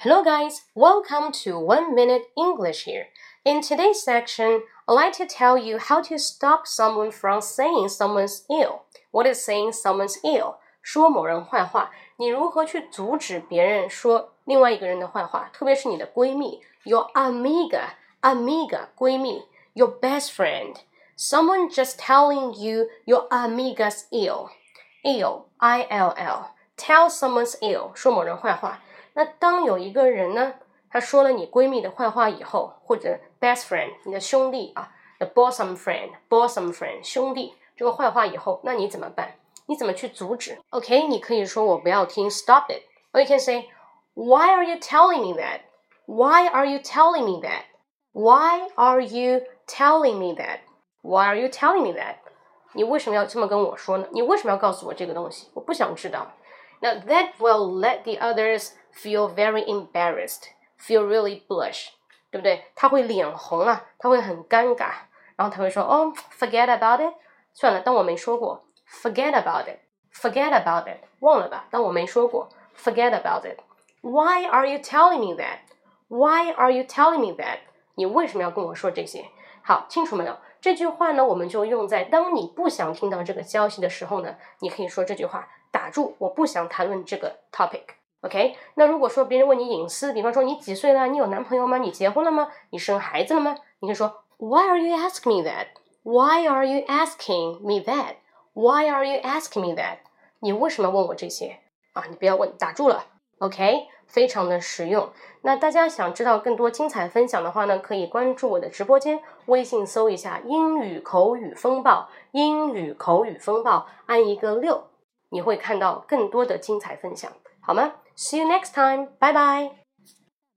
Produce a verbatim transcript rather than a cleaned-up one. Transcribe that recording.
Hello guys, welcome to One Minute English here. In today's section, I'd like to tell you how to stop someone from saying someone's ill. What is saying someone's ill? 说某人坏话，你如何去阻止别人说另外一个人的坏话，特别是你的闺蜜 Your amiga, amiga 闺蜜 Your best friend. Someone just telling you your amiga's ill. Ill, I L L. Tell someone's ill, 说某人坏话。那当有一个人呢，他说了你闺蜜的坏话以后，或者 best friend 你的兄弟啊 the bosom friend bosom friend 兄弟这个坏话以后，那你怎么办？你怎么去阻止 OK 你可以说我不要听 stop it or you can say why are you telling me that why are you telling me that why are you telling me that why are you telling me that 你为什么要这么跟我说呢？你为什么要告诉我这个东西？我不想知道。Now that will let the others feel very embarrassed, feel really blush, 对不对？他会脸红啊，他会很尴尬，然后他会说哦 forget about it 算了，当我没说过 forget about it, forget about it 忘了吧，当我没说过 forget about it Why are you telling me that? Why are you telling me that? 你为什么要跟我说这些？好，清楚没有？这句话呢，我们就用在当你不想听到这个消息的时候呢，你可以说这句话，打住，我不想谈论这个 topic。OK， 那如果说别人问你隐私，比方说你几岁了？你有男朋友吗？你结婚了吗？你生孩子了吗？你可以说 Why are you asking me that? Why are you asking me that? Why are you asking me that? 你为什么问我这些啊？你不要问，打住了。OK， 非常的实用。那大家想知道更多精彩分享的话呢，可以关注我的直播间，微信搜一下英语口语风暴，英语口语风暴，按一个六，你会看到更多的精彩分享，好吗？See you next time. Bye bye.